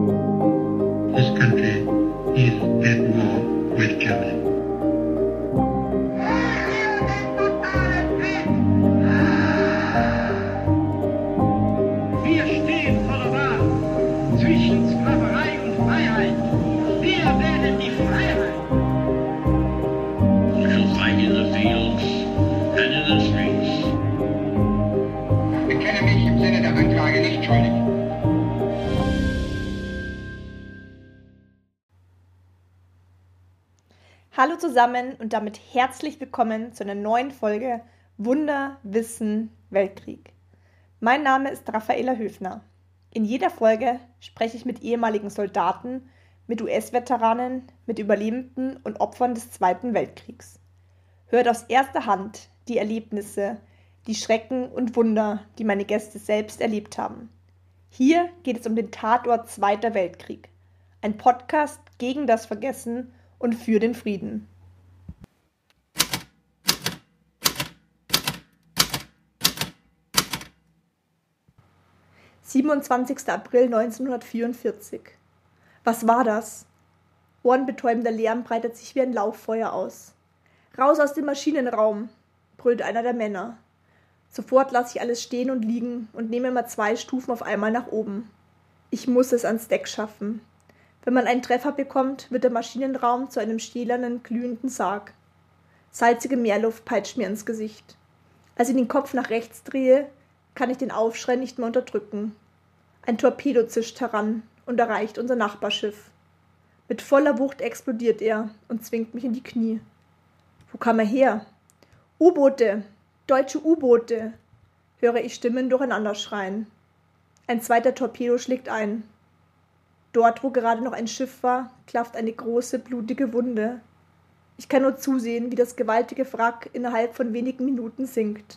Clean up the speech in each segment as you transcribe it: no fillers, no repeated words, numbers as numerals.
This country is at war with Germany. Wir stehen vor der Wahl zwischen Sklaverei und Freiheit. Wir wählen die Freiheit. We shall fight in the fields and in the streets. Ich bekenne mich im Sinne der Anklage nicht schuldig. Hallo zusammen und damit herzlich willkommen zu einer neuen Folge Wunder, Wissen, Weltkrieg. Mein Name ist Raffaela Höfner. In jeder Folge spreche ich mit ehemaligen Soldaten, mit US-Veteranen, mit Überlebenden und Opfern des Zweiten Weltkriegs. Hört aus erster Hand die Erlebnisse, die Schrecken und Wunder, die meine Gäste selbst erlebt haben. Hier geht es um den Tatort Zweiter Weltkrieg, ein Podcast gegen das Vergessen und für den Frieden. »27. April 1944. Was war das? Ohrenbetäubender Lärm breitet sich wie ein Lauffeuer aus. »Raus aus dem Maschinenraum«, brüllt einer der Männer. Sofort lasse ich alles stehen und liegen und nehme immer 2 Stufen auf einmal nach oben. Ich muss es ans Deck schaffen. Wenn man einen Treffer bekommt, wird der Maschinenraum zu einem stählernen, glühenden Sarg. Salzige Meerluft peitscht mir ins Gesicht. Als ich den Kopf nach rechts drehe, kann ich den Aufschrei nicht mehr unterdrücken. Ein Torpedo zischt heran und erreicht unser Nachbarschiff. Mit voller Wucht explodiert er und zwingt mich in die Knie. Wo kam er her? U-Boote! Deutsche U-Boote! Höre ich Stimmen durcheinander schreien. Ein zweiter Torpedo schlägt ein. Dort, wo gerade noch ein Schiff war, klafft eine große, blutige Wunde. Ich kann nur zusehen, wie das gewaltige Wrack innerhalb von wenigen Minuten sinkt.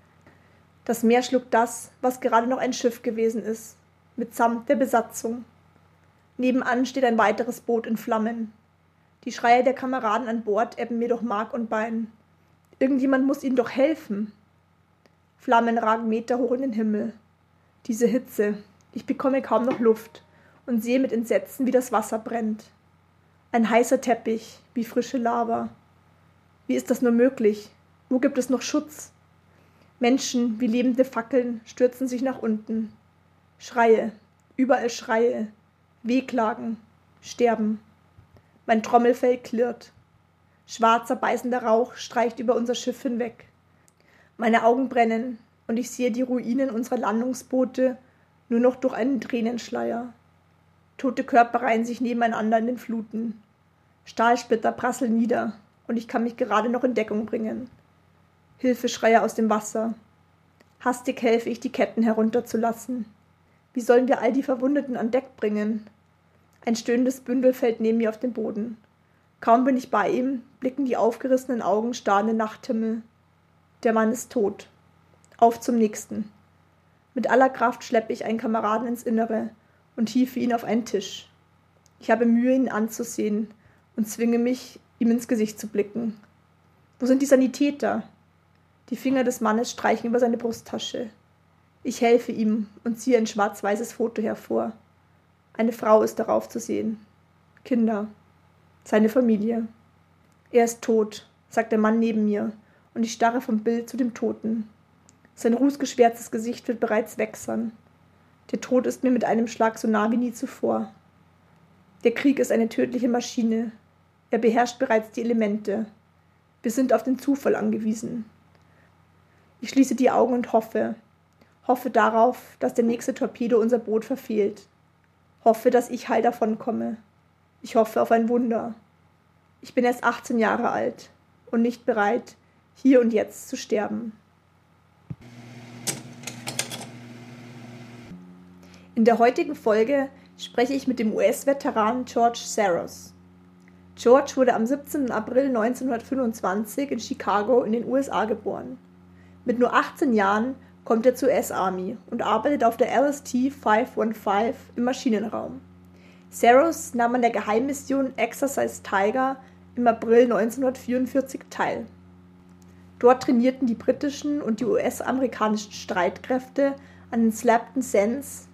Das Meer schluckt das, was gerade noch ein Schiff gewesen ist, mitsamt der Besatzung. Nebenan steht ein weiteres Boot in Flammen. Die Schreie der Kameraden an Bord ebben mir durch Mark und Bein. Irgendjemand muss ihnen doch helfen. Flammen ragen meterhoch in den Himmel. Diese Hitze, ich bekomme kaum noch Luft und sehe mit Entsetzen, wie das Wasser brennt. Ein heißer Teppich, wie frische Lava. Wie ist das nur möglich? Wo gibt es noch Schutz? Menschen wie lebende Fackeln stürzen sich nach unten. Schreie, überall Schreie, Wehklagen, Sterben. Mein Trommelfell klirrt. Schwarzer, beißender Rauch streicht über unser Schiff hinweg. Meine Augen brennen und ich sehe die Ruinen unserer Landungsboote nur noch durch einen Tränenschleier. Tote Körper reihen sich nebeneinander in den Fluten. Stahlsplitter prasseln nieder und ich kann mich gerade noch in Deckung bringen. Hilfeschreie aus dem Wasser. Hastig helfe ich, die Ketten herunterzulassen. Wie sollen wir all die Verwundeten an Deck bringen? Ein stöhnendes Bündel fällt neben mir auf den Boden. Kaum bin ich bei ihm, blicken die aufgerissenen Augen starr in den Nachthimmel. Der Mann ist tot. Auf zum nächsten. Mit aller Kraft schleppe ich einen Kameraden ins Innere und hiefe ihn auf einen Tisch. Ich habe Mühe, ihn anzusehen und zwinge mich, ihm ins Gesicht zu blicken. Wo sind die Sanitäter? Die Finger des Mannes streichen über seine Brusttasche. Ich helfe ihm und ziehe ein schwarz-weißes Foto hervor. Eine Frau ist darauf zu sehen. Kinder. Seine Familie. Er ist tot, sagt der Mann neben mir, und ich starre vom Bild zu dem Toten. Sein rußgeschwärztes Gesicht wird bereits wächsern. Der Tod ist mir mit einem Schlag so nah wie nie zuvor. Der Krieg ist eine tödliche Maschine. Er beherrscht bereits die Elemente. Wir sind auf den Zufall angewiesen. Ich schließe die Augen und hoffe darauf, dass der nächste Torpedo unser Boot verfehlt. Hoffe, dass ich heil davonkomme. Ich hoffe auf ein Wunder. Ich bin erst 18 Jahre alt und nicht bereit, hier und jetzt zu sterben. In der heutigen Folge spreche ich mit dem US-Veteran George Saros. George wurde am 17. April 1925 in Chicago in den USA geboren. Mit nur 18 Jahren kommt er zur US-Army und arbeitet auf der LST 515 im Maschinenraum. Saros nahm an der Geheimmission Exercise Tiger im April 1944 teil. Dort trainierten die britischen und die US-amerikanischen Streitkräfte an den Slapton Sands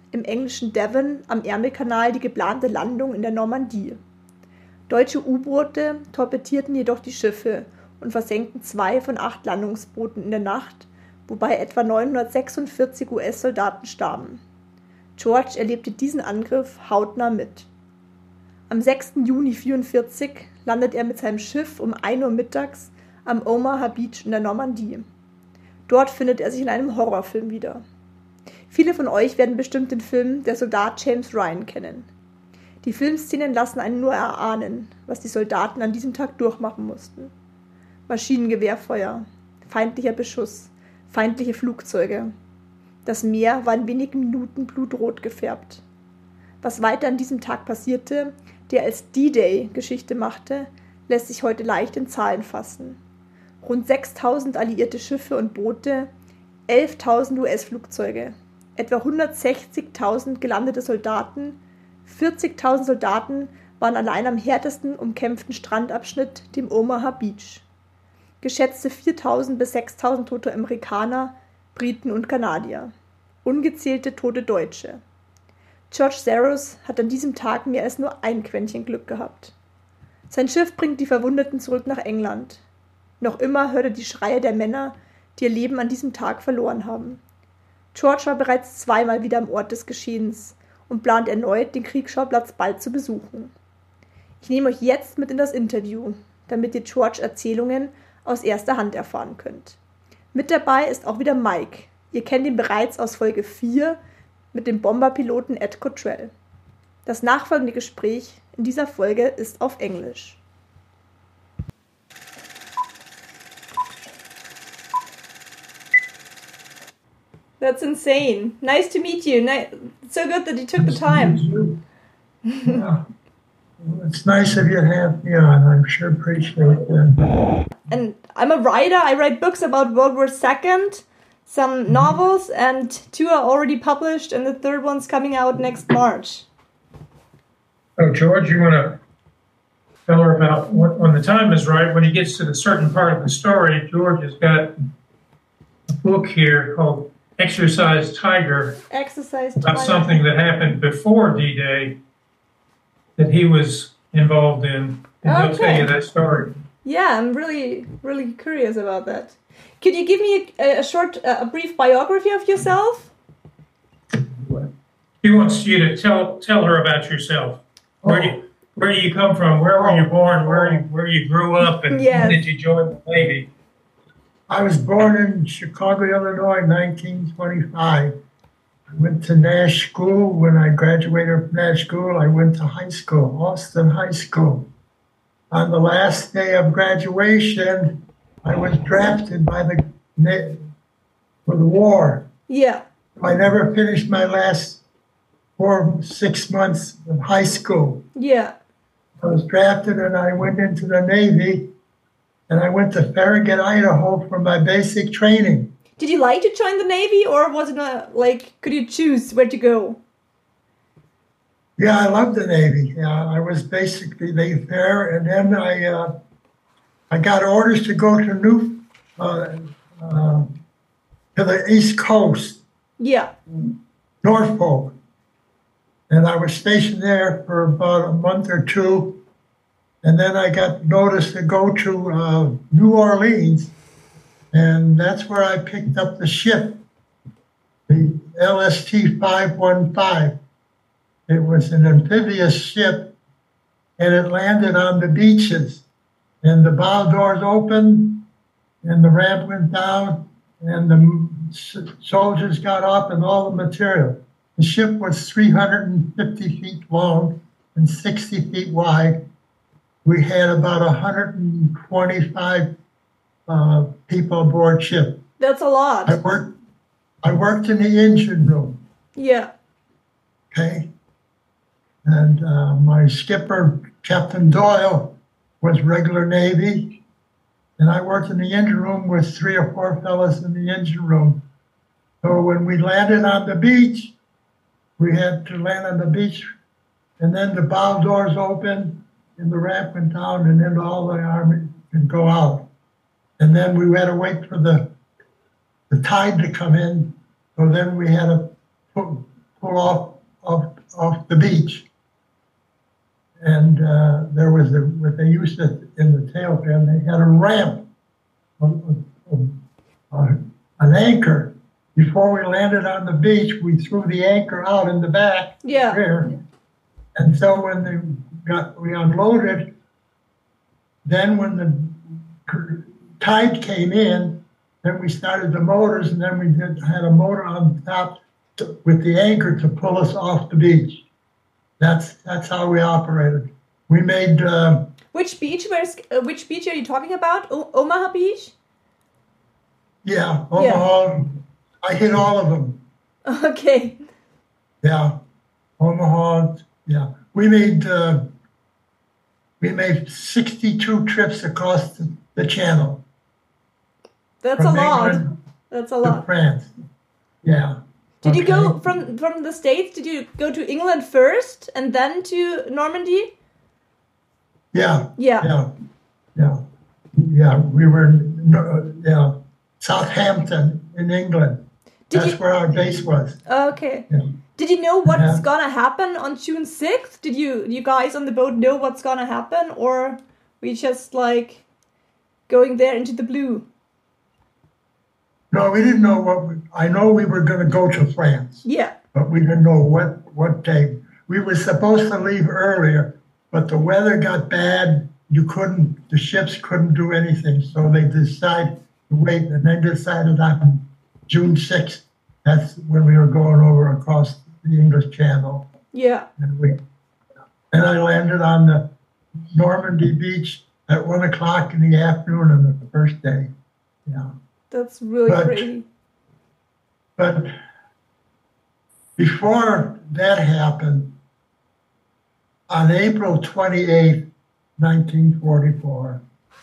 im englischen Devon am Ärmelkanal die geplante Landung in der Normandie. Deutsche U-Boote torpedierten jedoch die Schiffe und versenkten 2 von 8 Landungsbooten in der Nacht, wobei etwa 946 US-Soldaten starben. George erlebte diesen Angriff hautnah mit. Am 6. Juni 1944 landet er mit seinem Schiff um 1 Uhr mittags am Omaha Beach in der Normandie. Dort findet er sich in einem Horrorfilm wieder. Viele von euch werden bestimmt den Film Der Soldat James Ryan kennen. Die Filmszenen lassen einen nur erahnen, was die Soldaten an diesem Tag durchmachen mussten. Maschinengewehrfeuer, feindlicher Beschuss, feindliche Flugzeuge. Das Meer war in wenigen Minuten blutrot gefärbt. Was weiter an diesem Tag passierte, der als D-Day Geschichte machte, lässt sich heute leicht in Zahlen fassen. Rund 6.000 alliierte Schiffe und Boote, 11.000 US-Flugzeuge, etwa 160.000 gelandete Soldaten, 40.000 Soldaten waren allein am härtesten umkämpften Strandabschnitt, dem Omaha Beach. Geschätzte 4.000 bis 6.000 tote Amerikaner, Briten und Kanadier. Ungezählte tote Deutsche. George Saros hat an diesem Tag mehr als nur ein Quäntchen Glück gehabt. Sein Schiff bringt die Verwundeten zurück nach England. Noch immer hört er die Schreie der Männer, die ihr Leben an diesem Tag verloren haben. George war bereits 2-mal wieder am Ort des Geschehens und plant erneut, den Kriegsschauplatz bald zu besuchen. Ich nehme euch jetzt mit in das Interview, damit ihr George Erzählungen aus erster Hand erfahren könnt. Mit dabei ist auch wieder Mike. Ihr kennt ihn bereits aus Folge 4 mit dem Bomberpiloten Ed Cottrell. Das nachfolgende Gespräch in dieser Folge ist auf Englisch. That's insane. Nice to meet you. So good that you took the time. Yeah. Well, it's nice of you to have me on. I'm sure appreciate that. And I'm a writer. I write books about World War II, some novels, and 2 are already published, and the 3rd one's coming out next March. Oh, George, you want to tell her about when the time is right, when he gets to the certain part of the story, George has got a book here called Exercise Tiger. Exercise About Tiger. something that happened before D-Day that he was involved in. And he'll tell you that story. Yeah, I'm really, really curious about that. Could you give me a brief biography of yourself? He wants you to tell her about yourself. Where do you come from? Where were you born? Where you grew up? And when did you join the Navy? I was born in Chicago, Illinois, 1925. I went to Nash School. When I graduated from Nash School, I went to high school, Austin High School. On the last day of graduation, I was drafted for the war. Yeah. I never finished my last 6 months of high school. Yeah. I was drafted and I went into the Navy. And I went to Farragut, Idaho for my basic training. Did you like to join the Navy, or was it could you choose where to go? Yeah, I loved the Navy. Yeah, I was basically there, and then I got orders to go to the East Coast. Yeah. Norfolk. And I was stationed there for about a month or 2. And then I got notice to go to New Orleans, and that's where I picked up the ship, the LST 515. It was an amphibious ship, and it landed on the beaches. And the bow doors opened, and the ramp went down, and the soldiers got off and all the material. The ship was 350 feet long and 60 feet wide. We had about 125 people aboard ship. That's a lot. I worked in the engine room. Yeah. Okay. And my skipper, Captain Doyle, was regular Navy. And I worked in the engine room with 3 or 4 fellas in the engine room. So when we landed on the beach, we had to land on the beach, and then the bow doors opened, and the ramp went down, and then all the army could go out. And then we had to wait for the tide to come in. So then we had to pull off the beach. And there was what they used to, in the tail fin, they had a ramp, an anchor. Before we landed on the beach, we threw the anchor out in the back there. And so when we unloaded, then when the tide came in, then we started the motors, and then we had a motor on top with the anchor to pull us off the beach. That's how we operated. We made. Which beach? Which beach are you talking about? Omaha Beach? Yeah, Omaha. Yeah. I hit all of them. Okay. Yeah, Omaha. Yeah, we made 62 trips across the channel. That's a lot. That's a lot. France. Yeah. Did you go from the States? Did you go to England first and then to Normandy? Yeah. Yeah. We were in Southampton in England. That's where our base was. Okay. Yeah. Did you know what's gonna happen on June 6th? Did you guys on the boat know what's gonna happen, or we just like going there into the blue? No, we didn't know I know we were going to go to France. Yeah. But we didn't know what day. We were supposed to leave earlier, but the weather got bad. The ships couldn't do anything. So they decided to wait, and they decided on June 6th. That's when we were going over across the English Channel. Yeah. And I landed on the Normandy beach at 1:00 in the afternoon on the first day. Yeah. That's really crazy. But before that happened, on April 28th, 1944,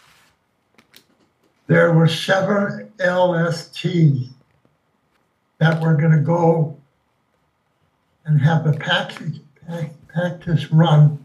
there were 7 LSTs that were going to go and have a practice run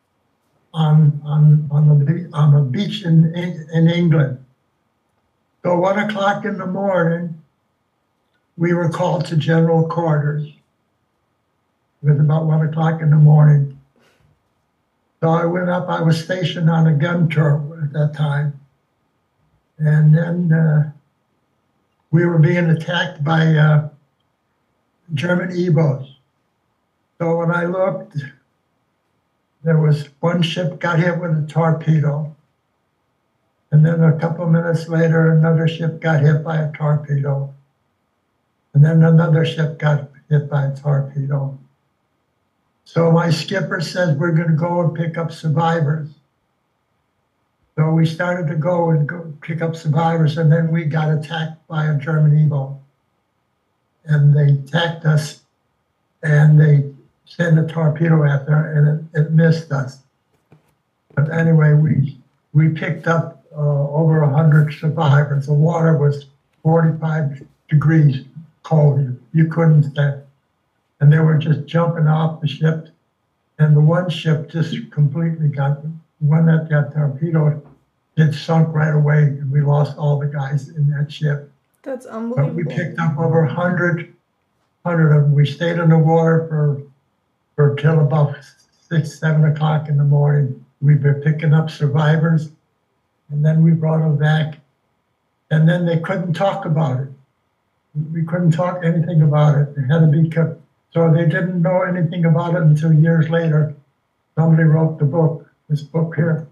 on a beach in England. So 1:00 in the morning, we were called to general quarters. It was about 1:00 in the morning. So I went up. I was stationed on a gun turret at that time. And then we were being attacked by German E-boats. So when I looked, there was one ship got hit with a torpedo. And then a couple of minutes later, another ship got hit by a torpedo. And then another ship got hit by a torpedo. So my skipper says, we're going to go and pick up survivors. So we started to go pick up survivors, and then we got attacked by a German E-boat. And they attacked us, and they sent a torpedo after, and it missed us. But anyway, we picked up over 100 survivors. The water was 45 degrees cold. You couldn't stand. And they were just jumping off the ship. And the one ship just completely one that got torpedoed, it sunk right away. And we lost all the guys in that ship. That's unbelievable. But we picked up over 100 of them. We stayed in the water for till about 6, 7 o'clock in the morning. We were picking up survivors. And then we brought them back, and then they couldn't talk about it. We couldn't talk anything about it. It had to be kept. So they didn't know anything about it until years later. Somebody wrote this book here,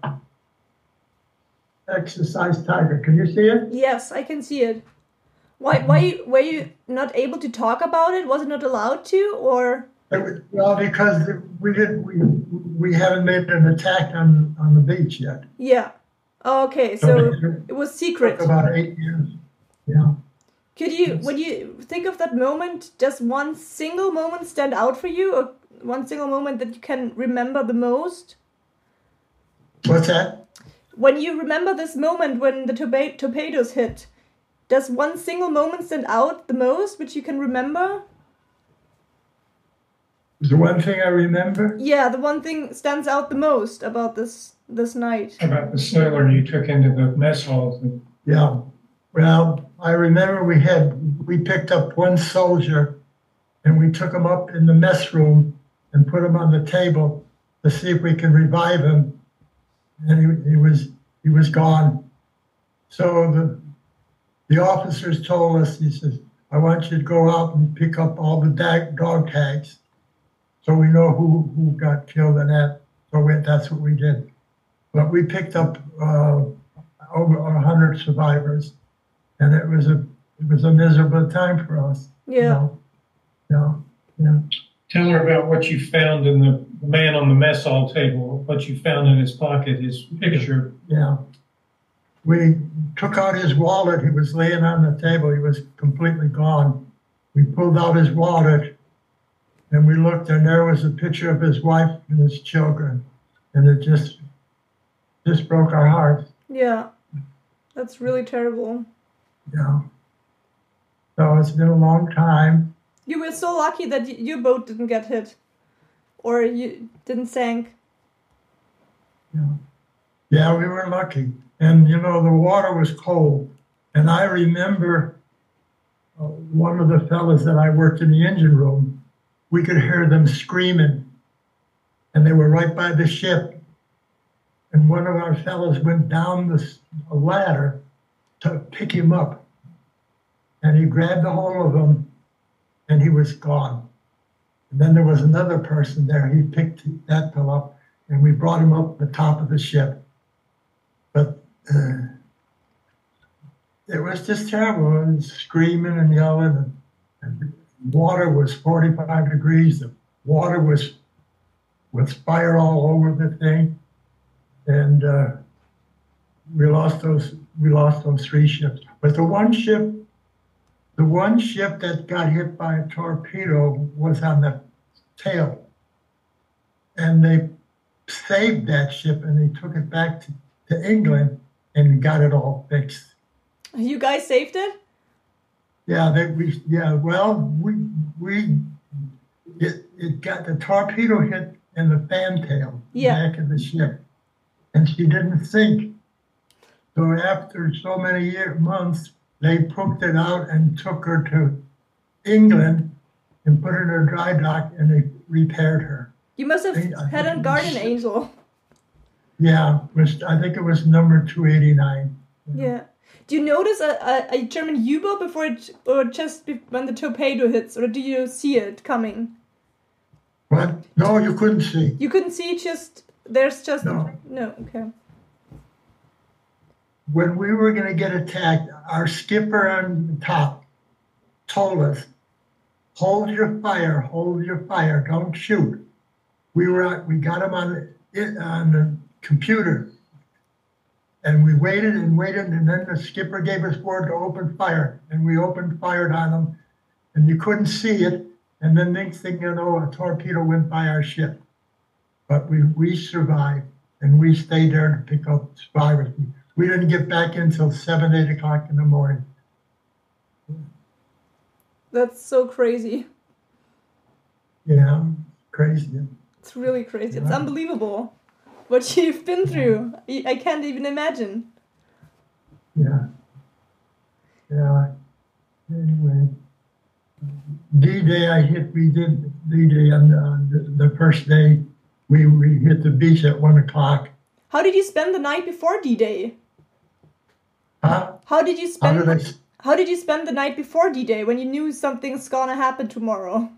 Exercise Tiger. Can you see it? Yes, I can see it. Why were you not able to talk about it? Was it not allowed to, or? Well, because we haven't made an attack on the beach yet. Yeah. Okay, so it was secret. About 8 years. Yeah. When you think of that moment, does one single moment stand out for you, or one single moment that you can remember the most? What's that? When you remember this moment when the torpedoes hit, does one single moment stand out the most, which you can remember? The one thing I remember? Yeah, the one thing stands out the most about this night. About the sailor you took into the mess halls. Yeah. Well, I remember we picked up one soldier and we took him up in the mess room and put him on the table to see if we could revive him. And he was gone. So the officers told us, he says, I want you to go out and pick up all the dog tags so we know who got killed in that. So that's what we did. But we picked up over 100 survivors, and it was a miserable time for us. Yeah. Yeah. Tell her about what you found in the man on the mess hall table, what you found in his pocket, his picture. Yeah. We took out his wallet. He was laying on the table. He was completely gone. We pulled out his wallet, and we looked, and there was a picture of his wife and his children. And it just broke our hearts. Yeah. That's really terrible. Yeah. So it's been a long time. You were so lucky that your boat didn't get hit. Or you didn't sink. Yeah, we were lucky. And, the water was cold. And I remember one of the fellas that I worked in the engine room, we could hear them screaming. And they were right by the ship. And one of our fellas went down a ladder to pick him up. And he grabbed a hold of him, and he was gone. And then there was another person there. He picked that fellow up, and we brought him up the top of the ship. But it was just terrible. It was screaming and yelling, and water was 45 degrees. The water was with fire all over the thing, and we lost those 3 ships. But the one ship that got hit by a torpedo was on the tail, and they saved that ship and they took it back to England and got it all fixed. You guys saved it? Yeah, it got the torpedo hit in the fantail back of the ship, and she didn't sink. So after so many months, they pooped it out and took her to England and put her in a dry dock, and they repaired her. You must have had a guardian angel. Yeah, I think it was number 289. Yeah. Do you notice a German U-boat before it, or just when the torpedo hits, or do you see it coming? What? No, you couldn't see. You couldn't see, there's just... No. No, okay. When we were going to get attacked, our skipper on the top told us, hold your fire, don't shoot. We got him on the computer, and we waited, and then the skipper gave us word to open fire, and we fired on them, and you couldn't see it, and then next thing you know, a torpedo went by our ship. But we survived, and we stayed there to pick up survivors. We didn't get back in until 7, 8 o'clock in the morning. That's so crazy. Yeah, crazy. It's really crazy. It's unbelievable what you've been through. I can't even imagine. Yeah. Anyway, D-Day we did D-Day on the first day. We hit the beach at 1 o'clock. How did you spend the night before D-Day? Huh? How did you spend the night before D-Day when you knew something's gonna happen tomorrow?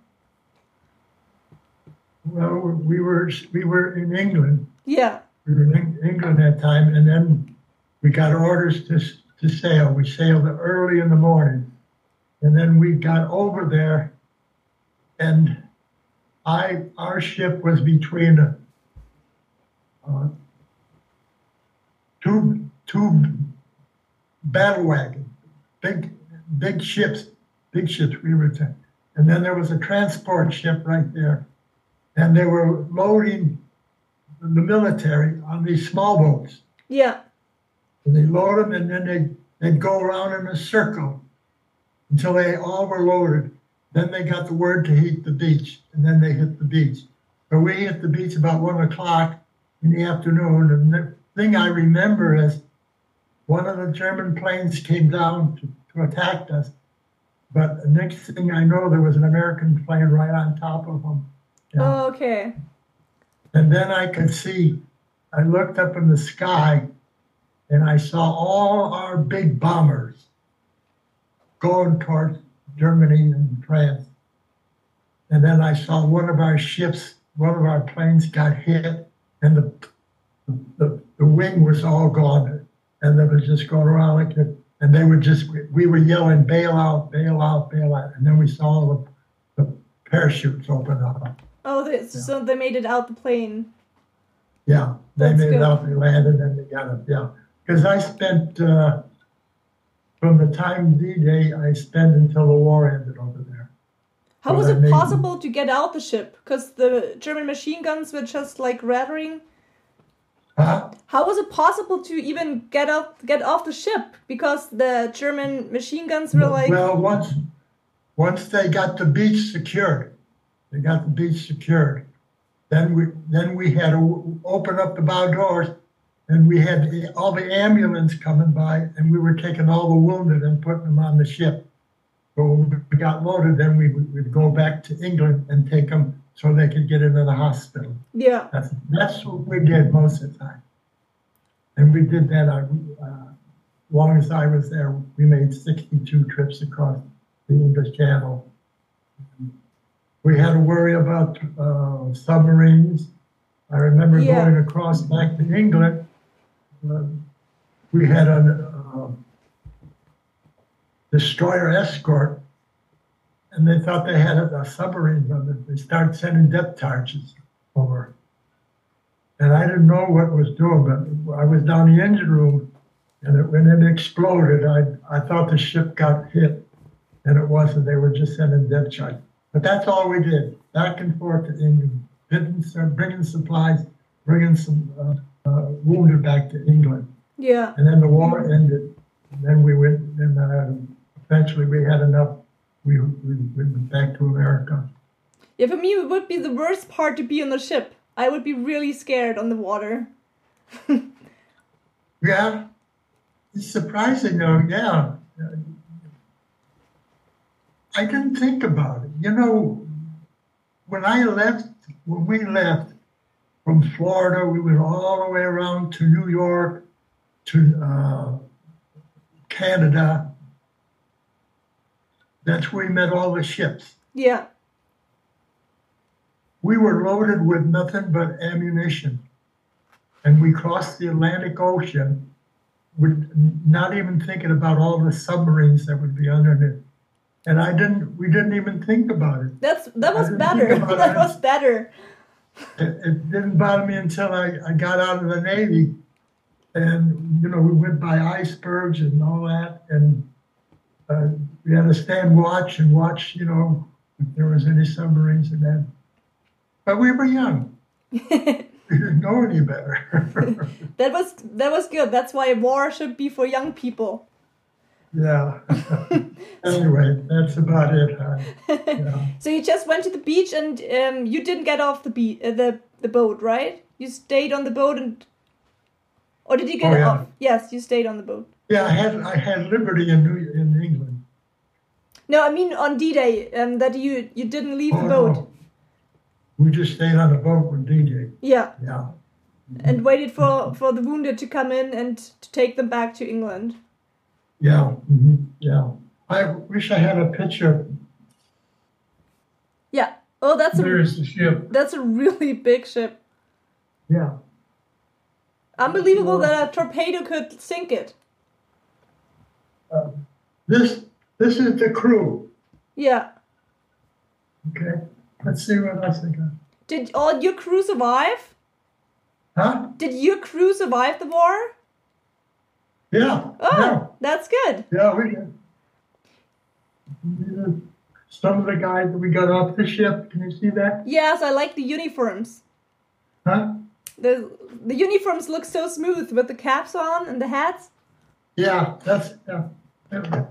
Well, we were in England. Yeah. We were in England that time, and then we got orders to sail. We sailed early in the morning, and then we got over there, and our ship was between two battle wagons, big ships. We were, and then there was a transport ship right there, and they were loading the military on these small boats. Yeah. And they load them, and then they'd go around in a circle until they all were loaded. Then they got the word to hit the beach, and then they hit the beach. So we hit the beach about 1 o'clock in the afternoon, and the thing I remember is one of the German planes came down to attack us, But the next thing I know, there was an American plane right on top of them. Yeah. Oh, okay. And then I could see, I looked up in the sky and I saw all our big bombers going towards Germany and France. And then I saw one of our ships, one of our planes got hit, and the wing was all gone. And they were just going around like that. And they were just, we were yelling, bail out, bail out, bail out. And then we saw the parachutes open up. Oh, so they made it out the plane. Yeah, they That's made good. it out, they landed, and they got it, yeah. Because I spent, from the time D-Day, I spent until the war ended over there. How So was that it made- possible to get out the ship? Because the German machine guns were just like rattling. Huh? How was it possible to even get off the ship? Because the German machine guns were like. Well, once they got the beach secured, then we had to open up the bow doors, and we had all the ambulance coming by, and we were taking all the wounded and putting them on the ship. But when we got loaded, then we'd go back to England and take them so they could get into the hospital. Yeah. That's what we did most of the time. And we did that, long as I was there, we made 62 trips across the English Channel. We had to worry about submarines. I remember Yeah. going across back to England. We had a destroyer escort, and they thought they had a submarine on it. They started sending depth charges over. And I didn't know what it was doing, but I was down the engine room, and when it exploded, I thought the ship got hit, and it wasn't. They were just sending depth charges. But that's all we did, back and forth to England, bringing supplies, bringing some wounded back to England. Yeah. And then the war ended. And then we went, and eventually we had enough. We went back to America. Yeah, for me, it would be the worst part to be on the ship. I would be really scared on the water. Yeah, it's surprising though. Yeah, I didn't think about it. You know, when we left from Florida, we went all the way around to New York, to Canada. That's where we met all the ships. Yeah. We were loaded with nothing but ammunition. And we crossed the Atlantic Ocean with not even thinking about all the submarines that would be underneath. And we didn't even think about it. That was didn't better. think about That it. was better. It didn't bother me until I got out of the Navy. And, you know, we went by icebergs and all that. And we had to stand watch, you know, if there was any submarines in that. But we were young. We didn't know any better. That was good. That's why war should be for young people. Yeah. Anyway, that's about it. Yeah. So you just went to the beach and you didn't get off the boat, right? You stayed on the boat or did you get yeah. off? Yes, you stayed on the boat. Yeah, I had Liberty in England. No, I mean on D-Day, that you didn't leave the Oh, boat. no. We just stayed on the boat with DJ. Yeah, Yeah. and waited for the wounded to come in and to take them back to England. Yeah. Yeah. I wish I had a picture. Yeah. Oh, There's the ship. that's a really big ship. Yeah. Unbelievable that a torpedo could sink it. This is the crew. Yeah. Okay. Let's see what else I got. Did all your crew survive? Huh? Did your crew survive the war? Yeah. Oh, that's good. Yeah, we did. Some of the guys that we got off the ship, can you see that? Yes, I like the uniforms. Huh? The uniforms look so smooth with the caps on and the hats. Yeah, yeah.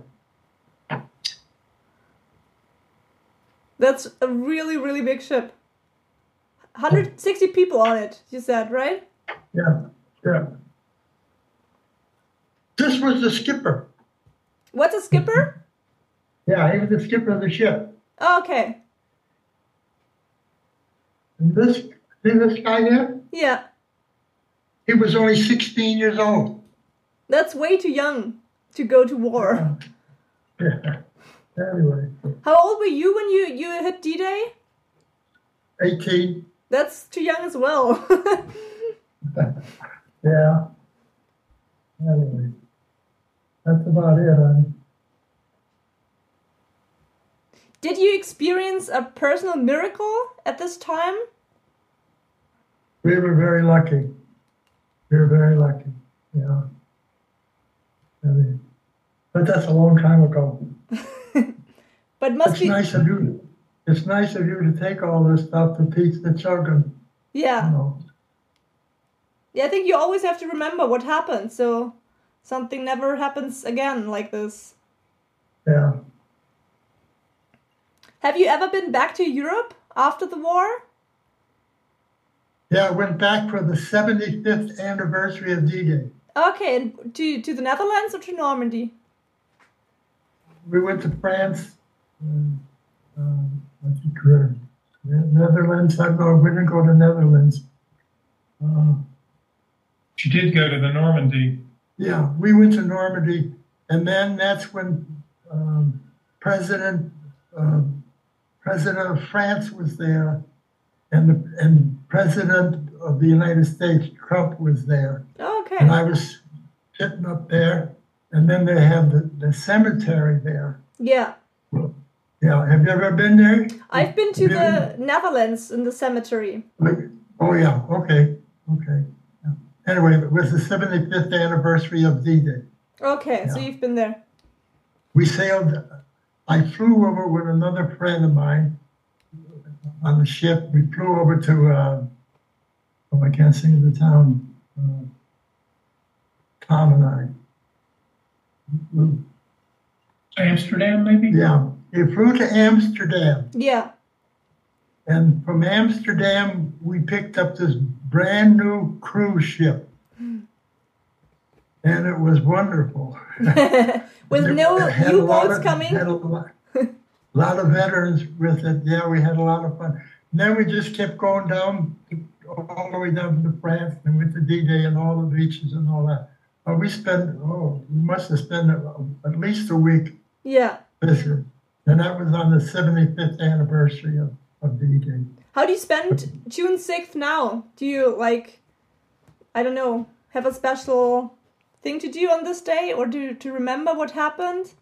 That's a really, really big ship. 160 people on it, you said, right? Yeah. This was the skipper. What's a skipper? Yeah, he was the skipper of the ship. Okay. And see this guy there? Yeah. He was only 16 years old. That's way too young to go to war. Yeah. Anyway, How old were you when you hit D-Day? 18. That's too young as well. Yeah. Anyway, that's about it. Did you experience a personal miracle at this time? We were very lucky. We were very lucky. Yeah. But that's a long time ago. But must It's be nice of you. It's nice of you to take all this stuff to teach the children. yeah. You know. Yeah, I think you always have to remember what happened, so something never happens again like this. Yeah. Have you ever been back to Europe after the war? Yeah, I went back for the 75th anniversary of D-Day. Okay, and to the Netherlands or to Normandy? We went to France. I think Netherlands. I don't know. We didn't go to Netherlands. She did go to the Normandy. Yeah, we went to Normandy, and then that's when President of France was there, and President of the United States, Trump, was there. Okay. And I was sitting up there, and then they have the cemetery there. Yeah. Yeah, have you ever been there? I've been to the Netherlands in the cemetery. Oh yeah, okay. Yeah. Anyway, it was the 75th anniversary of D-Day. Okay, so Yeah. you've been there. We sailed. I flew over with another friend of mine on the ship. We flew over to. I can't say the town. Tom and I. Amsterdam, maybe? Yeah, we flew to Amsterdam, Yeah. and from Amsterdam we picked up this brand new cruise ship, and it was wonderful. With It no had a lot U-boats of- coming? had a lot of veterans with it. Yeah, we had a lot of fun. And then we just kept going down, all the way down to France, and went to D-Day and all the beaches and all that. We must have spent at least a week Yeah. visiting. And that was on the 75th anniversary of D-Day. How do you spend June 6th now? Do you, I don't know, have a special thing to do on this day or to remember what happened?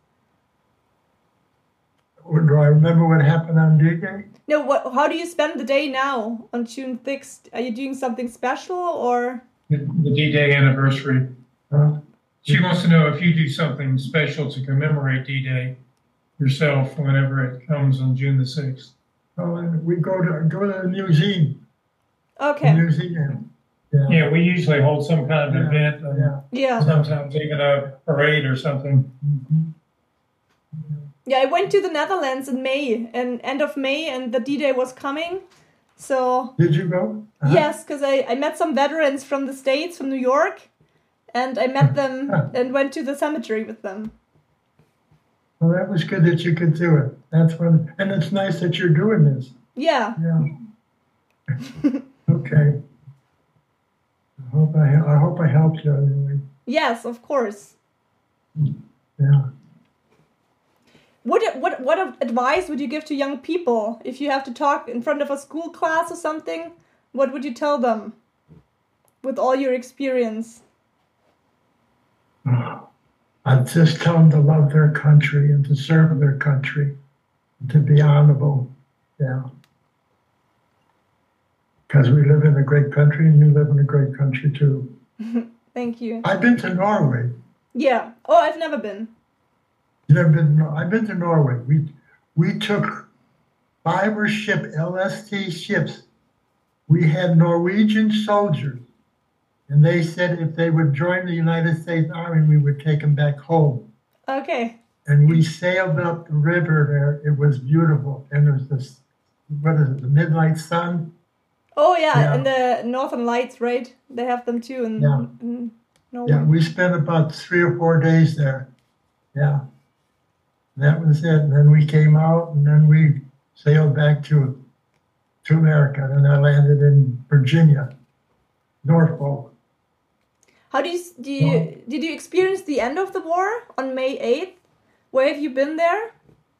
Or do I remember what happened on D-Day? No, how do you spend the day now on June 6th? Are you doing something special or? The D-Day anniversary. She wants to know if you do something special to commemorate D-Day yourself whenever it comes on June the 6th. Oh, and we go to the museum. Okay. The museum. Yeah. Yeah, we usually hold some kind of event, Yeah. Yeah. sometimes even a parade or something. Yeah, I went to the Netherlands in May, and end of May, and the D-Day was coming. So, Did you go? yes, because I met some veterans from the States, from New York, and I met them and went to the cemetery with them. Well, that was good that you could do it. That's one, and it's nice that you're doing this. Yeah. Yeah. Okay. I hope I helped you anyway. Yes, of course. Yeah. What advice would you give to young people if you have to talk in front of a school class or something? What would you tell them with all your experience? I'd just tell them to love their country and to serve their country, to be honorable. Yeah. Because we live in a great country and you live in a great country too. Thank you. I've been to Norway. Yeah. Oh, I've never been. You've never been? I've been to Norway. We took 5 LST ships. We had Norwegian soldiers, and they said if they would join the United States Army, we would take them back home. Okay. And we sailed up the river there. It was beautiful, and there was this, the midnight sun. Oh yeah, Yeah. and the Northern Lights, right? They have them too in Norway. Yeah, we spent about 3 or 4 days there. Yeah. That was it. And then we came out, and then we sailed back to America. And I landed in Virginia, Norfolk. How did you experience the end of the war on May 8th? Where have you been there?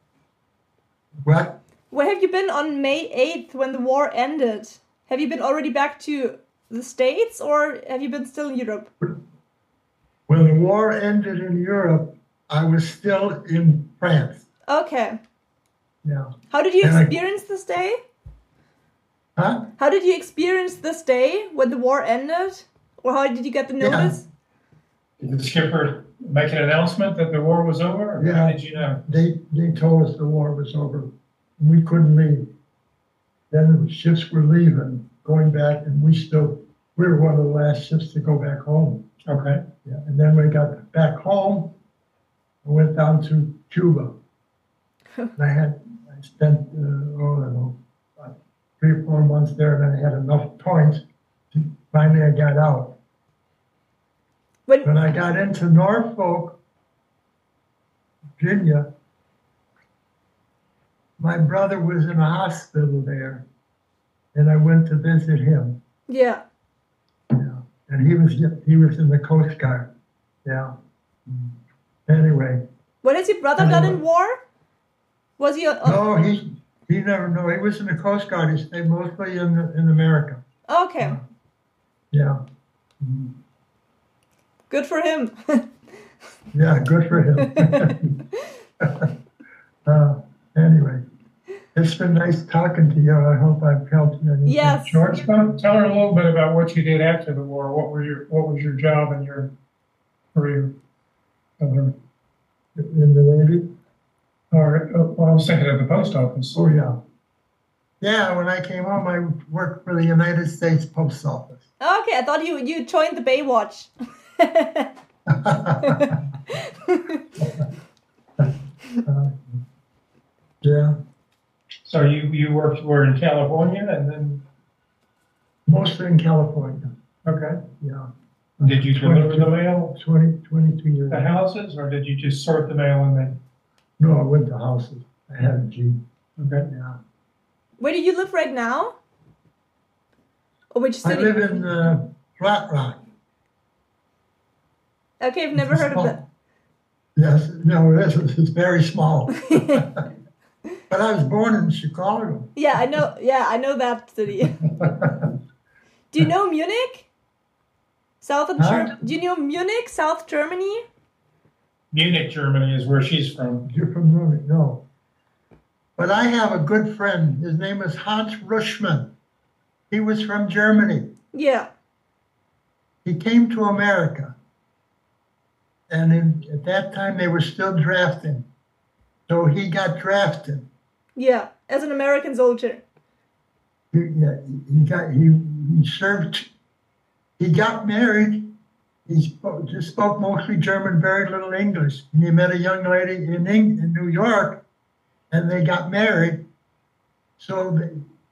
What? Where have you been on May 8th when the war ended? Have you been already back to the States, or have you been still in Europe? When the war ended in Europe, I was still in France. Okay. Yeah. How did you And experience this day? Huh? How did you experience this day when the war ended? Or how did you get the notice? Did the skipper make an announcement that the war was over? Or Yeah. How did you know? They told us the war was over. We couldn't leave. Then the ships were leaving, going back, and we were one of the last ships to go back home. Okay. Yeah. And then we got back home and went down to Cuba. And I spent, I don't know, about 3 or 4 months there, and I had enough points. Finally, I got out. When I got into Norfolk, Virginia, my brother was in a hospital there, and I went to visit him. Yeah. Yeah, and he was in the Coast Guard. Yeah. Anyway. What has your brother done in war? Was he? No, he never. No, he was in the Coast Guard. He stayed mostly in America. Okay. Yeah. Good for him. Yeah, good for him. Anyway, it's been nice talking to you. I hope I've helped you. Yes. George, tell her a little bit about what you did after the war. What was your job and your career? In the Navy? Or, well, I was thinking of the post office. Oh, yeah. Yeah, when I came home, I worked for the United States Post Office. Okay, I thought you joined the Baywatch. Yeah. So you were in California and then? Mostly in California. Okay. Yeah. Did you deliver the mail 22 years. to houses, or did you just sort the mail and then? No, I went to houses. I had a Jeep. Okay. Yeah. Where do you live right now? Or which I city? live in Flat Rock. Okay, I've never heard of that. Yes, no, it's very small. But I was born in Chicago. Yeah, I know. Yeah, I know that city. Do you know Munich? Do you know Munich, South Germany? Munich, Germany is where she's from. You're from Munich, no. But I have a good friend. His name is Hans Ruschmann. He was from Germany. Yeah. He came to America. And at that time, they were still drafting. So he got drafted. Yeah, as an American soldier. He served. He got married. He just spoke mostly German, very little English. And he met a young lady in New York, and they got married. So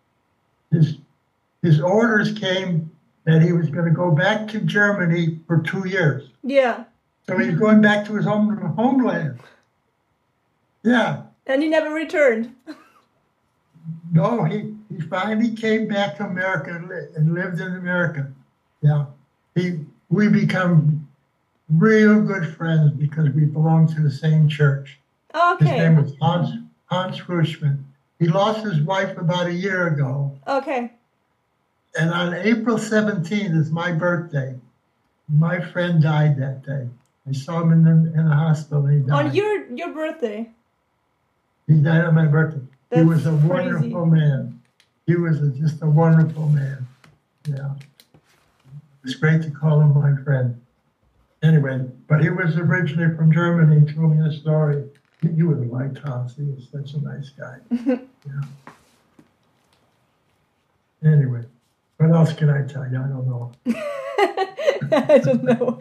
his orders came that he was going to go back to Germany for 2 years. Yeah. So he's going back to his homeland. Yeah. And he never returned. No, he finally came back to America and lived in America. Yeah. We become real good friends because we belong to the same church. Okay. His name was Hans Ruschmann. He lost his wife about a year ago. Okay. And on April 17th is my birthday. My friend died that day. I saw him in the hospital and he died. On your birthday? He died on my birthday. That's he was a crazy. wonderful man. He was just a wonderful man. Yeah. It's great to call him my friend. Anyway, but he was originally from Germany. He told me the story. You would have liked Hans. He was such a nice guy. Yeah. Anyway, what else can I tell you? I don't know. I don't know.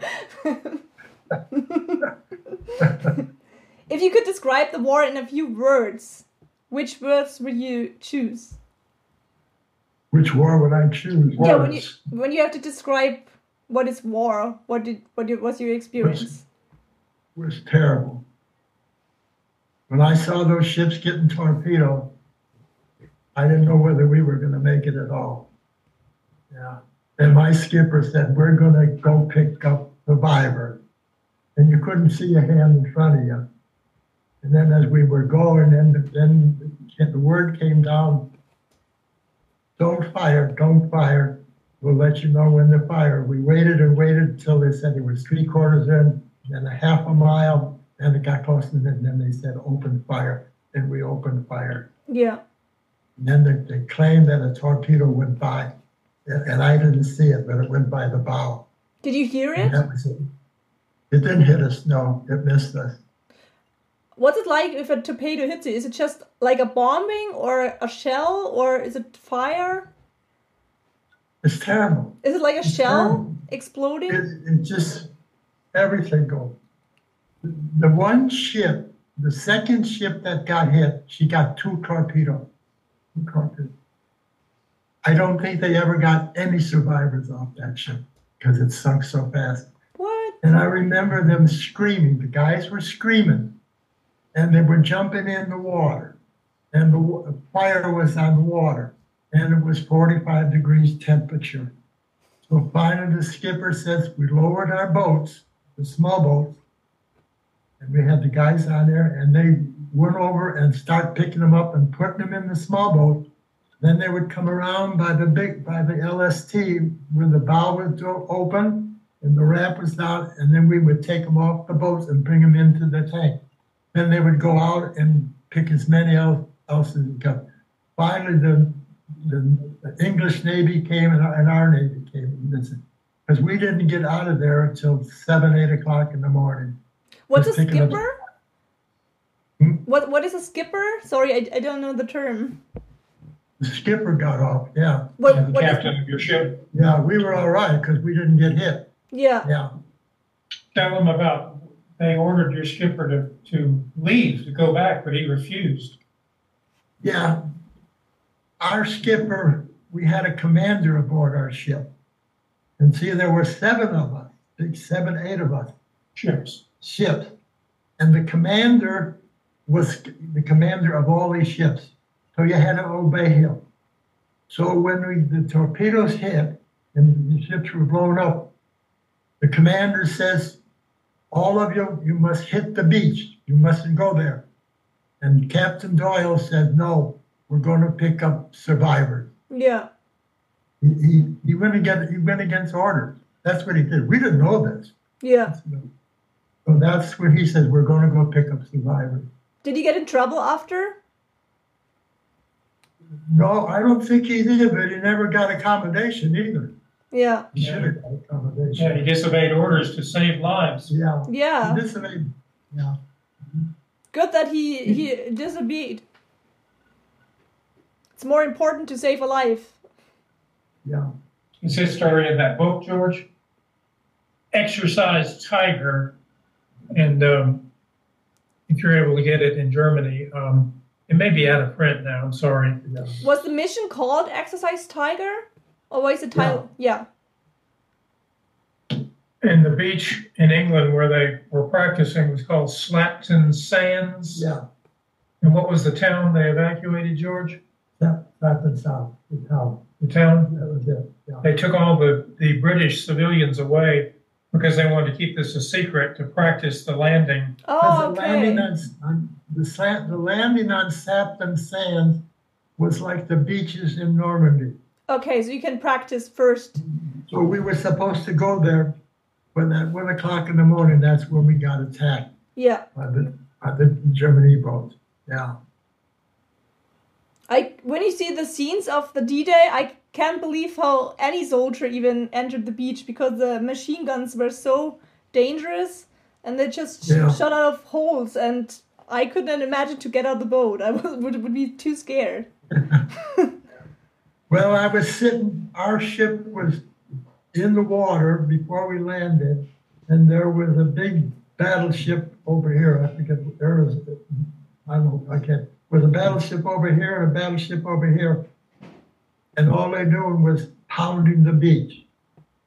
If you could describe the war in a few words, which words would you choose? Which war would I choose? Yeah, Words. when you have to describe what is war, what was your experience? Was terrible. when I saw those ships getting torpedoed, I didn't know whether we were going to make it at all. Yeah. And my skipper said, we're going to go pick up survivors. And you couldn't see a hand in front of you. And then as we were going, then the word came down, don't fire, don't fire. We'll let you know when to fire. We waited and waited until they said it was 3/4 in and a half a mile, and it got close to it, and then they said open fire, and we opened fire. Yeah. And then they claimed that a torpedo went by, and I didn't see it, but it went by the bow. Did you hear it? And that was it. It didn't hit us, no, it missed us. What's it like if a torpedo hits you? Is it just like a bombing or a shell or is it fire? It's terrible. Is it like a shell terrible. exploding? It just, everything goes. The one ship, the second ship that got hit, she got 2 torpedoes. I don't think they ever got any survivors off that ship because it sunk so fast. What? And I remember them screaming. The guys were screaming. And they were jumping in the water. And the fire was on the water. And it was 45 degrees temperature. So finally the skipper says, we lowered our boats, the small boats, and we had the guys on there, and they went over and start picking them up and putting them in the small boat. Then they would come around by the LST where the bow was open and the ramp was down, and then we would take them off the boats and bring them into the tank. Then they would go out and pick as many else as they could. Finally, the English Navy came and our Navy came, because we didn't get out of there until 7, 8 o'clock in the morning. What's a skipper? What is a skipper? Sorry, I don't know the term. The skipper got off, yeah. The captain of your ship. Yeah, we were all right because we didn't get hit. Yeah. Yeah. Tell them about, they ordered your skipper to leave, to go back, but he refused. Yeah. Our skipper, we had a commander aboard our ship. And see, there were 7 of us, 7, 8 of us. Ships. And the commander was the commander of all these ships. So you had to obey him. So when the torpedoes hit and the ships were blown up, the commander says, all of you must hit the beach. You mustn't go there. And Captain Doyle said, no, we're going to pick up survivors. Yeah. He went against orders. That's what he did. We didn't know this. Yeah. So that's when he says, we're going to go pick up survivors. Did he get in trouble after? No, I don't think he did, but he never got accommodation either. Yeah. He should have got accommodation. Yeah, he disobeyed orders to save lives. Yeah. Yeah. He disobeyed. Yeah. Good that he disobeyed. It's more important to save a life. Yeah. Is his story in that book, George? Exercise Tiger. And if you're able to get it in Germany, it may be out of print now. I'm sorry. Yeah. Was the mission called Exercise Tiger? Or was the title? Yeah. And the beach in England where they were practicing was called Slapton Sands. Yeah. And what was the town they evacuated, George? Slapton South, the town. The town? That was it. Yeah. They took all the British civilians away because they wanted to keep this a secret to practice the landing. Oh, the okay. landing the landing on Slapton Sands was like the beaches in Normandy. Okay, so you can practice first. So we were supposed to go there, but at 1 o'clock in the morning, that's when we got attacked. Yeah. By the German U-boats. Yeah. When you see the scenes of the D-Day, I can't believe how any soldier even entered the beach because the machine guns were so dangerous and they just shot out of holes, and I couldn't imagine to get out of the boat. I would be too scared. Well, I was sitting, our ship was in the water before we landed, and there was a big battleship over here. I forget, there was, was a battleship over here and a battleship over here. And all they doing was pounding the beach,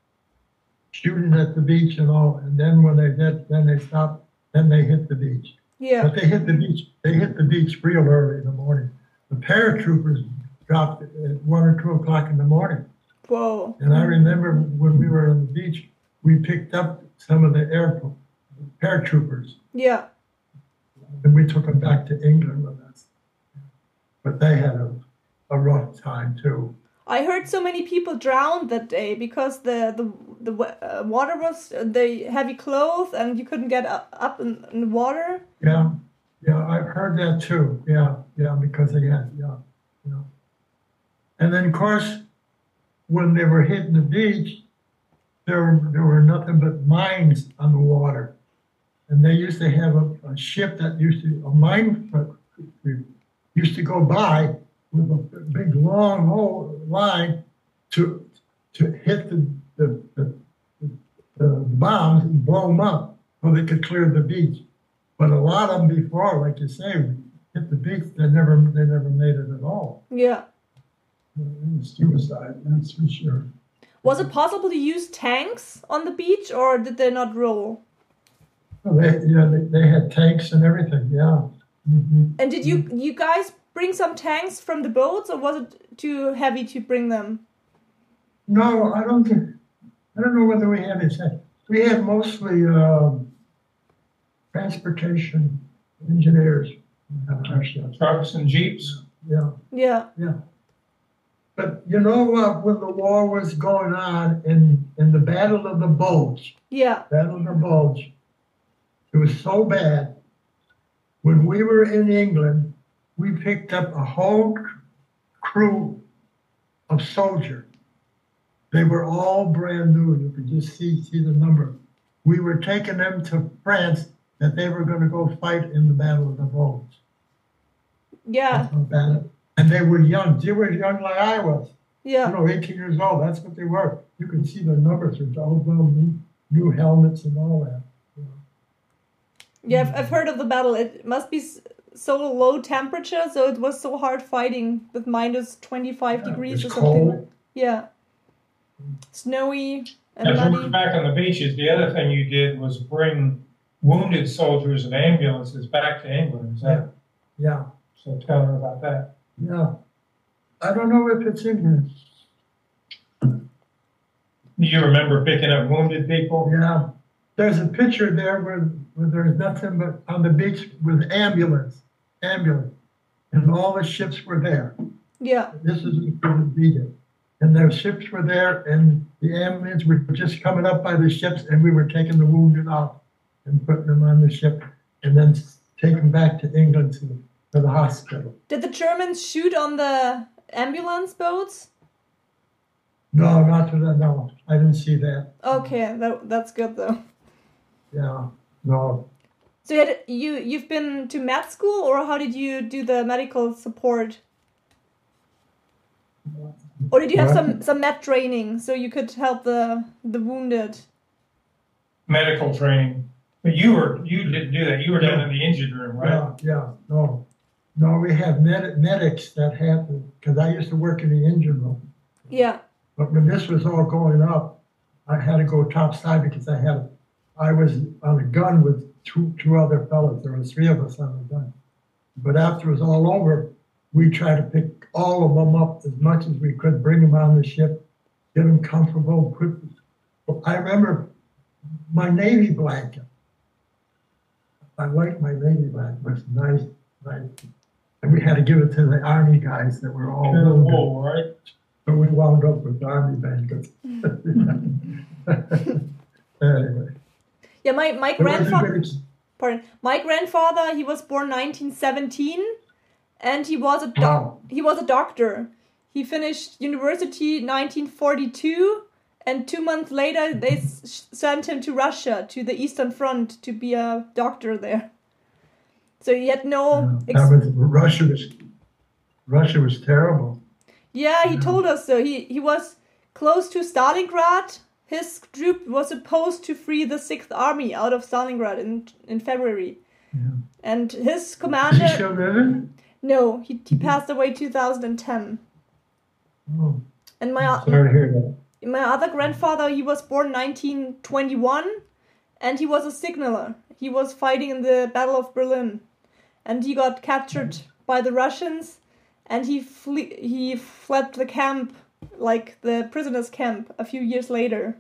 shooting at the beach and all. And then when they stopped, then they hit the beach. Yeah. But they hit the beach. They hit the beach real early in the morning. The paratroopers dropped at 1 or 2 o'clock in the morning. Whoa. And I remember when we were on the beach, we picked up some of the paratroopers, Yeah. and we took them back to England with us. But they had a rough time too. I heard so many people drowned that day because the water was the heavy clothes and you couldn't get up in the water. Yeah, I've heard that too. Yeah, because they had, yeah. And then, of course, when they were hitting the beach, there were nothing but mines on the water. And they used to have a ship that a mine used to go by with a big long line to hit the bombs and blow them up so they could clear the beach. But a lot of them before, like you say, hit the beach, they never made it at all. Yeah. It was suicide, that's for sure. Was it possible to use tanks on the beach, or did they not roll? Well, they had tanks and everything, yeah. Mm-hmm. And did you guys bring some tanks from the boats, or was it too heavy to bring them? No, I don't know whether we had it. We had mostly transportation engineers. Trucks and jeeps. Yeah. Yeah. But you know what? When the war was going on in the Battle of the Bulge, Yeah. it was so bad. When we were in England, we picked up a whole crew of soldiers. They were all brand new. You could just see the number. We were taking them to France that they were going to go fight in the Battle of the Bulge. Yeah. And they were young. They were young like I was. Yeah. 18 years old. That's what they were. You could see the numbers. There's all those new helmets and all that. Yeah, I've heard of the battle. It must be so low temperature, so it was so hard fighting with minus 25 degrees or something. Cold. Yeah. Snowy and As we muddy. were back on the beaches, the other thing you did was bring wounded soldiers and ambulances back to England. Is that? Yeah. So tell her about that. Yeah. I don't know if it's in here. You remember picking up wounded people? Yeah. There's a picture there where there's nothing but on the beach with ambulance. And all the ships were there. Yeah. This is for the D-Day. And their ships were there, and the ambulance were just coming up by the ships, and we were taking the wounded out and putting them on the ship, and then taking them back to England to the hospital. Did the Germans shoot on the ambulance boats? No, not to that. No, I didn't see that. Okay, that's good though. Yeah, no. So you've been to med school, or how did you do the medical support? Or did you have some med training so you could help the wounded? Medical training. But you didn't do that. You were down in the engine room, right? Yeah, no. No, we have medics that had to, because I used to work in the engine room. Yeah. But when this was all going up, I had to go topside because I was on a gun with two other fellows. There was 3 of us on the gun. But after it was all over, we tried to pick all of them up as much as we could, bring them on the ship, get them comfortable. I remember my Navy blanket. I liked my Navy blanket. It was nice. And we had to give it to the Army guys that were all wool, right? So we wound up with Army blankets. Anyway. Yeah, my grandfather. Pardon. My grandfather, he was born 1917, and he was a doctor. He finished university 1942, and 2 months later they sent him to Russia, to the Eastern Front, to be a doctor there. So he had no. Russia was terrible. Yeah, he told us so. He was close to Stalingrad. His troop was supposed to free the 6th Army out of Stalingrad in February. Yeah. And his commander... Is he still living? No, he passed away 2010. Oh, And sorry to hear that. my other grandfather, he was born 1921, and he was a signaler. He was fighting in the Battle of Berlin, and he got captured by the Russians, and he fled the camp, like the prisoners' camp, a few years later.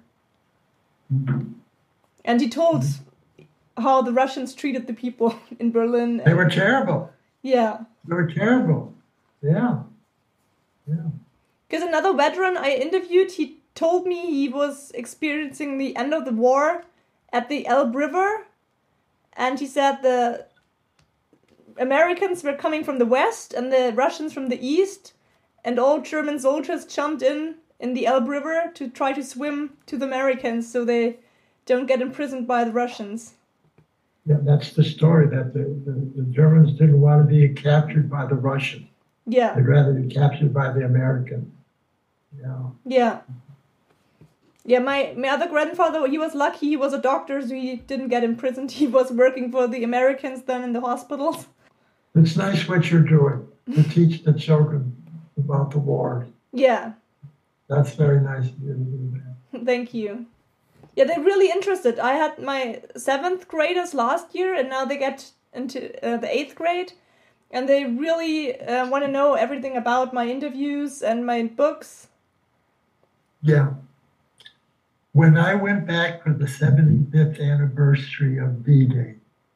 And he told how the Russians treated the people in Berlin. They were terrible. Yeah. They were terrible. Yeah. Because another veteran I interviewed, he told me he was experiencing the end of the war at the Elbe River, and he said the Americans were coming from the west and the Russians from the east, and all German soldiers jumped in the Elbe River to try to swim to the Americans so they don't get imprisoned by the Russians. Yeah, that's the story, that the Germans didn't want to be captured by the Russians. Yeah. They'd rather be captured by the Americans. Yeah. Yeah, my other grandfather, he was lucky. He was a doctor, so he didn't get imprisoned. He was working for the Americans then in the hospitals. It's nice what you're doing, to teach the children about the war. Yeah. That's very nice of you to do that. Thank you. Yeah, they're really interested. I had my 7th graders last year, and now they get into the 8th grade. And they really want to know everything about my interviews and my books. Yeah. When I went back for the 75th anniversary of D-Day,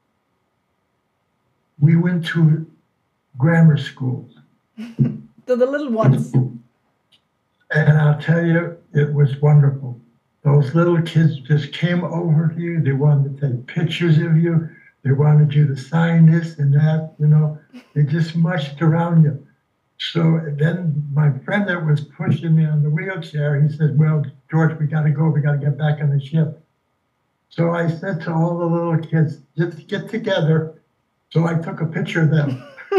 we went to grammar schools. The little ones. And I'll tell you, it was wonderful. Those little kids just came over to you. They wanted to take pictures of you. They wanted you to sign this and that, They just mushed around you. So then my friend that was pushing me on the wheelchair, he said, well, George, we got to go. We got to get back on the ship. So I said to all the little kids, just get together. So I took a picture of them.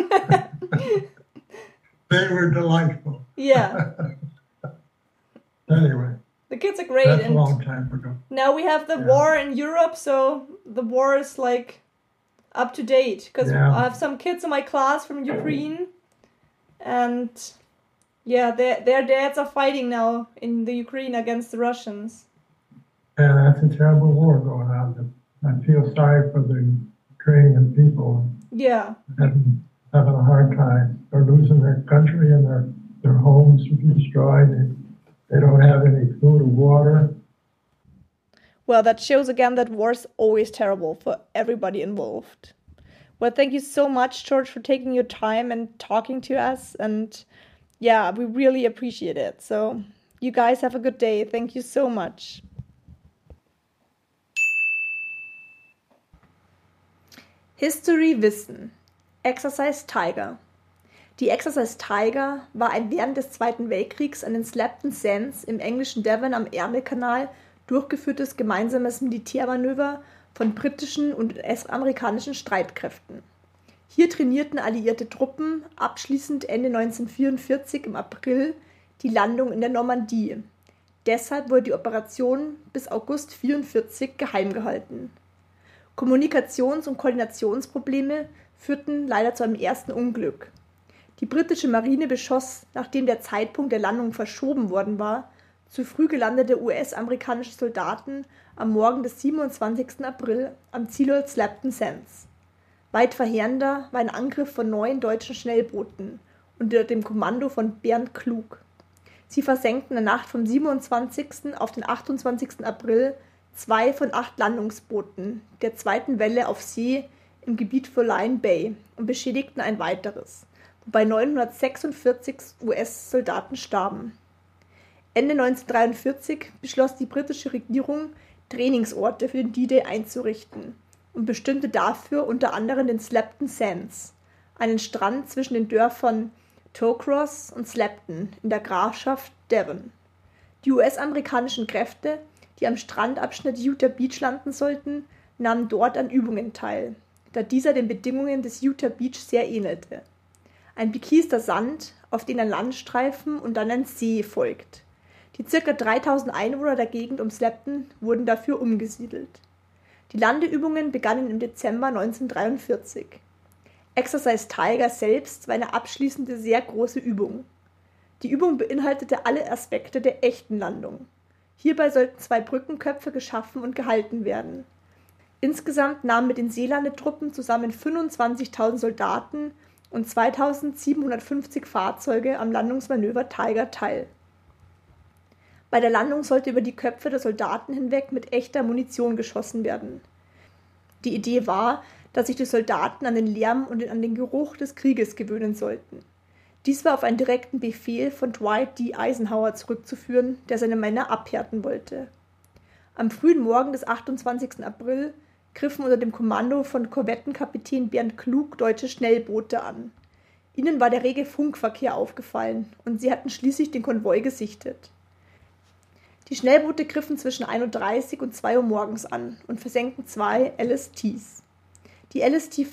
They were delightful. Yeah. Anyway. The kids are great. That's a long time ago. Now we have the war in Europe, so the war is like up to date. Because I have some kids in my class from Ukraine. And their dads are fighting now in the Ukraine against the Russians. Yeah, that's a terrible war going on. I feel sorry for the Ukrainian people. Yeah. Having a hard time. They're losing their country and their homes are destroyed. They don't have any food or water. Well, that shows again that war is always terrible for everybody involved. Well, thank you so much, George, for taking your time and talking to us. And we really appreciate it. So you guys have a good day. Thank you so much. History Wissen. Exercise Tiger. Die Exercise Tiger war ein während des Zweiten Weltkriegs an den Slapton Sands im englischen Devon am Ärmelkanal durchgeführtes gemeinsames Militärmanöver von britischen und US-amerikanischen Streitkräften. Hier trainierten alliierte Truppen abschließend Ende 1944 im April die Landung in der Normandie. Deshalb wurde die Operation bis August 1944 geheim gehalten. Kommunikations- und Koordinationsprobleme führten leider zu einem ersten Unglück. Die britische Marine beschoss, nachdem der Zeitpunkt der Landung verschoben worden war, zu früh gelandete US-amerikanische Soldaten am Morgen des 27. April am Zielort Slapton Sands. Weit verheerender war ein Angriff von 9 deutschen Schnellbooten unter dem Kommando von Bernd Klug. Sie versenkten in der Nacht vom 27. auf den 28. April 2 von 8 Landungsbooten der zweiten Welle auf See im Gebiet von Lion Bay und beschädigten ein weiteres, wobei 946 US-Soldaten starben. Ende 1943 beschloss die britische Regierung, Trainingsorte für den D-Day einzurichten und bestimmte dafür unter anderem den Slapton Sands, einen Strand zwischen den Dörfern Towcross und Slapton in der Grafschaft Devon. Die US-amerikanischen Kräfte, die am Strandabschnitt Utah Beach landen sollten, nahmen dort an Übungen teil, da dieser den Bedingungen des Utah Beach sehr ähnelte. Ein bekiester Sand, auf den ein Landstreifen und dann ein See folgt. Die ca. 3000 Einwohner der Gegend um Slapton wurden dafür umgesiedelt. Die Landeübungen begannen im Dezember 1943. Exercise Tiger selbst war eine abschließende, sehr große Übung. Die Übung beinhaltete alle Aspekte der echten Landung. Hierbei sollten 2 Brückenköpfe geschaffen und gehalten werden. Insgesamt nahmen mit den Seelande-Truppen zusammen 25.000 Soldaten und 2.750 Fahrzeuge am Landungsmanöver Tiger teil. Bei der Landung sollte über die Köpfe der Soldaten hinweg mit echter Munition geschossen werden. Die Idee war, dass sich die Soldaten an den Lärm und an den Geruch des Krieges gewöhnen sollten. Dies war auf einen direkten Befehl von Dwight D. Eisenhower zurückzuführen, der seine Männer abhärten wollte. Am frühen Morgen des 28. April griffen unter dem Kommando von Korvettenkapitän Bernd Klug deutsche Schnellboote an. Ihnen war der rege Funkverkehr aufgefallen und sie hatten schließlich den Konvoi gesichtet. Die Schnellboote griffen zwischen 1:30 und 2 Uhr morgens an und versenkten 2 LSTs. Die LST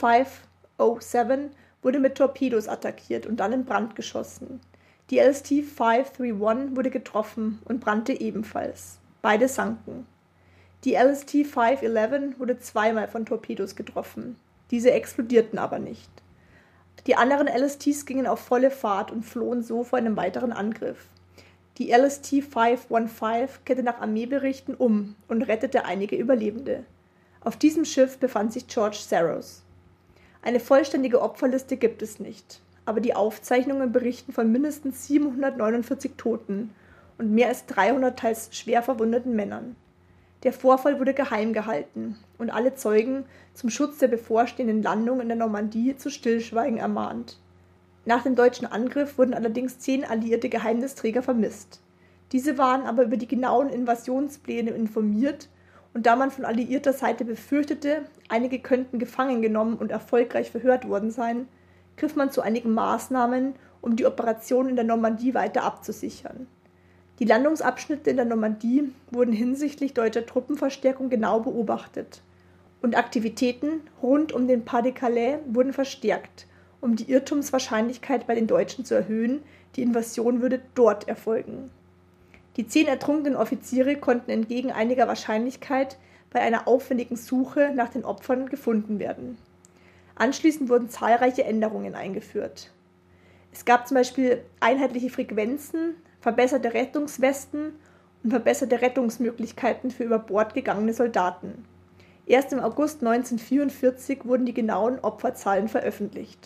507 wurde mit Torpedos attackiert und dann in Brand geschossen. Die LST 531 wurde getroffen und brannte ebenfalls. Beide sanken. Die LST 511 wurde zweimal von Torpedos getroffen. Diese explodierten aber nicht. Die anderen LSTs gingen auf volle Fahrt und flohen so vor einem weiteren Angriff. Die LST 515 kehrte nach Armeeberichten um und rettete einige Überlebende. Auf diesem Schiff befand sich George Saros. Eine vollständige Opferliste gibt es nicht, aber die Aufzeichnungen berichten von mindestens 749 Toten und mehr als 300 teils schwer verwundeten Männern. Der Vorfall wurde geheim gehalten und alle Zeugen zum Schutz der bevorstehenden Landung in der Normandie zu Stillschweigen ermahnt. Nach dem deutschen Angriff wurden allerdings 10 alliierte Geheimnisträger vermisst. Diese waren aber über die genauen Invasionspläne informiert und da man von alliierter Seite befürchtete, einige könnten gefangen genommen und erfolgreich verhört worden sein, griff man zu einigen Maßnahmen, um die Operation in der Normandie weiter abzusichern. Die Landungsabschnitte in der Normandie wurden hinsichtlich deutscher Truppenverstärkung genau beobachtet und Aktivitäten rund um den Pas-de-Calais wurden verstärkt, um die Irrtumswahrscheinlichkeit bei den Deutschen zu erhöhen, die Invasion würde dort erfolgen. Die 10 ertrunkenen Offiziere konnten entgegen einiger Wahrscheinlichkeit bei einer aufwendigen Suche nach den Opfern gefunden werden. Anschließend wurden zahlreiche Änderungen eingeführt. Es gab zum Beispiel einheitliche Frequenzen, verbesserte Rettungswesten und verbesserte Rettungsmöglichkeiten für über Bord gegangene Soldaten. Erst im August 1944 wurden die genauen Opferzahlen veröffentlicht.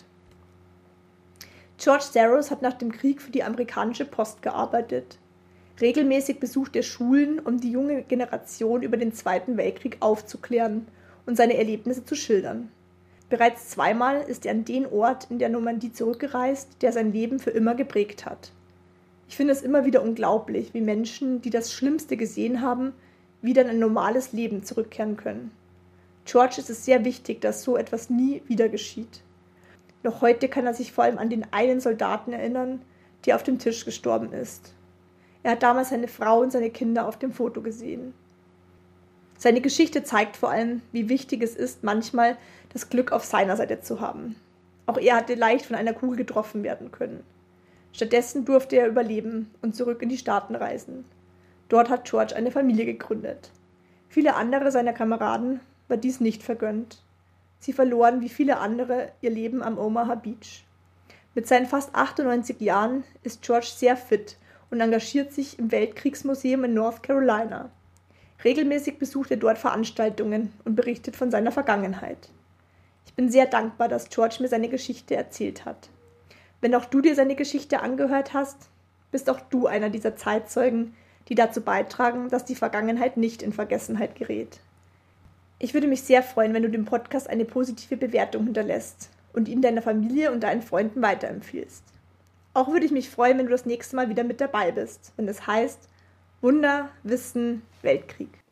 George Saros hat nach dem Krieg für die amerikanische Post gearbeitet. Regelmäßig besucht er Schulen, um die junge Generation über den Zweiten Weltkrieg aufzuklären und seine Erlebnisse zu schildern. Bereits zweimal ist er an den Ort in der Normandie zurückgereist, der sein Leben für immer geprägt hat. Ich finde es immer wieder unglaublich, wie Menschen, die das Schlimmste gesehen haben, wieder in ein normales Leben zurückkehren können. George ist es sehr wichtig, dass so etwas nie wieder geschieht. Noch heute kann er sich vor allem an den einen Soldaten erinnern, der auf dem Tisch gestorben ist. Er hat damals seine Frau und seine Kinder auf dem Foto gesehen. Seine Geschichte zeigt vor allem, wie wichtig es ist, manchmal das Glück auf seiner Seite zu haben. Auch er hatte leicht von einer Kugel getroffen werden können. Stattdessen durfte er überleben und zurück in die Staaten reisen. Dort hat George eine Familie gegründet. Viele andere seiner Kameraden war dies nicht vergönnt. Sie verloren wie viele andere ihr Leben am Omaha Beach. Mit seinen fast 98 Jahren ist George sehr fit und engagiert sich im Weltkriegsmuseum in North Carolina. Regelmäßig besucht er dort Veranstaltungen und berichtet von seiner Vergangenheit. Ich bin sehr dankbar, dass George mir seine Geschichte erzählt hat. Wenn auch du dir seine Geschichte angehört hast, bist auch du einer dieser Zeitzeugen, die dazu beitragen, dass die Vergangenheit nicht in Vergessenheit gerät. Ich würde mich sehr freuen, wenn du dem Podcast eine positive Bewertung hinterlässt und ihn deiner Familie und deinen Freunden weiterempfiehlst. Auch würde ich mich freuen, wenn du das nächste Mal wieder mit dabei bist, wenn es heißt Wunder, Wissen, Weltkrieg.